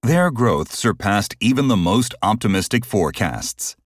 Their growth surpassed even the most optimistic forecasts.